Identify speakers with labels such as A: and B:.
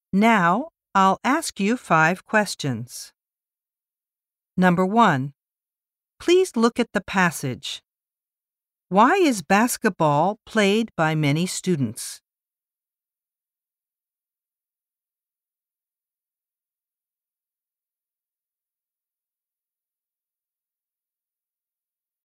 A: Now, I'll ask you 5 questions. Number 1. Please look at the passage. Why is basketball played by many students?